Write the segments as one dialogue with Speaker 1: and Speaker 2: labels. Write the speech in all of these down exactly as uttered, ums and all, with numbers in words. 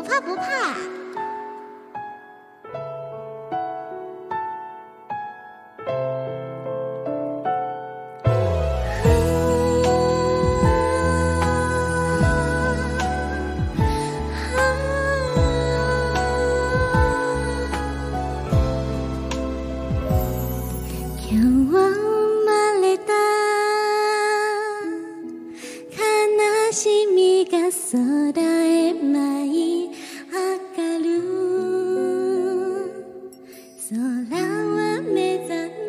Speaker 1: 怕不怕。今日生まれた悲しみが空へ舞い上がる。空は目覚め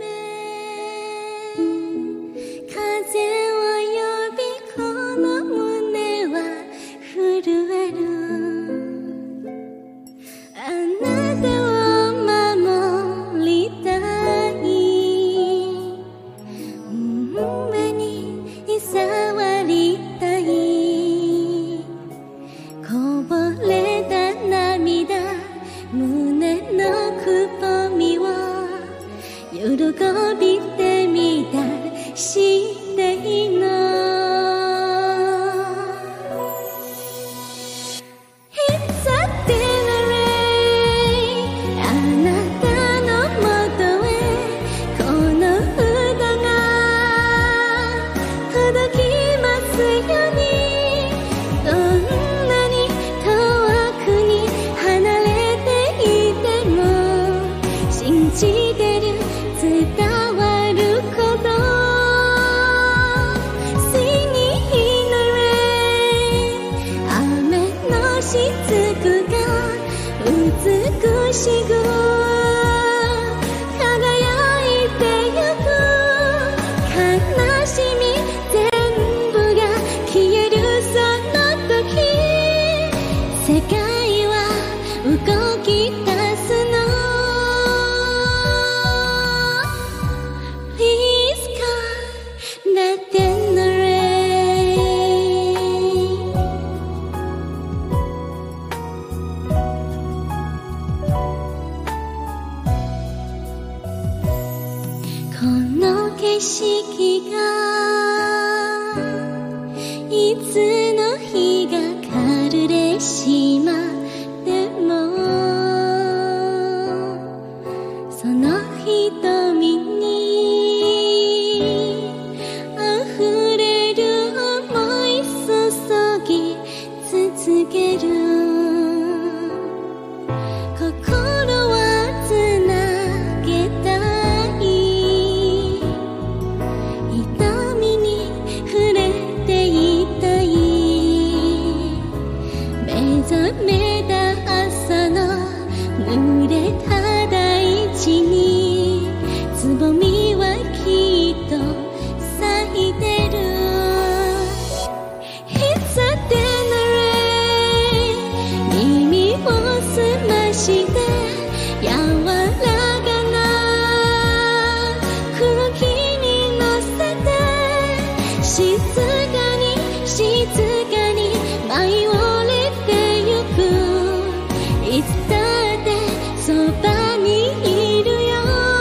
Speaker 1: 風を呼びこの胸は震える。あなたを守りたい、上に触りたい。こぼれた涙、胸のくぼみを喜びでみたりしていいの。It's a dinner rain、 あなたのもとへこの歌が届きますように。どんなに遠くに離れていても信じてる、伝わること。 Singing in the rain、 雨のしずくが美しく輝いてゆく。悲しみ全部が消えるその時、世界は動き出すの。 Please come that in the rain。 この景色がいつの日が枯れしまっても、その瞳に溢れる想い注ぎ続ける。心はつなげたい、痛みに触れていたい。目覚めた朝の濡れた大地につぼみはきっと咲いてる。 It's a dinner rain、 耳を澄まして柔らかな空気に乗せて、静かに静かに舞い降りてゆく。いつだってそばにいるよ。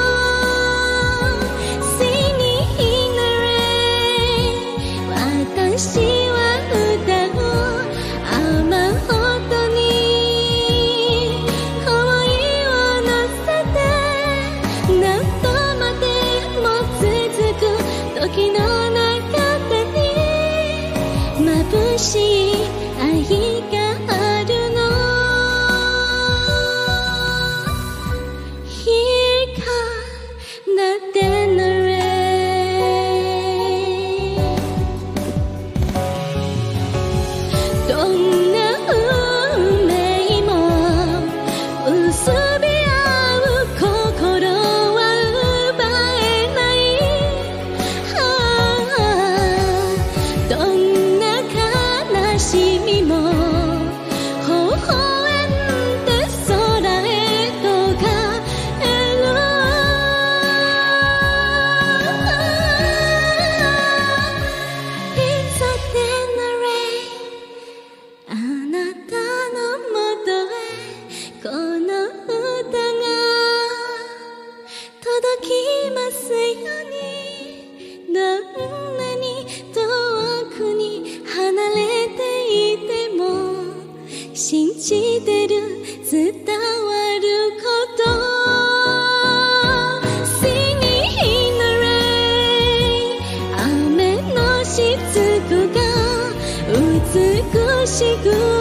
Speaker 1: Singing in the rain、 私は歌う雨音に想いを乗せて、何度までも続く時の中でにつくか美しく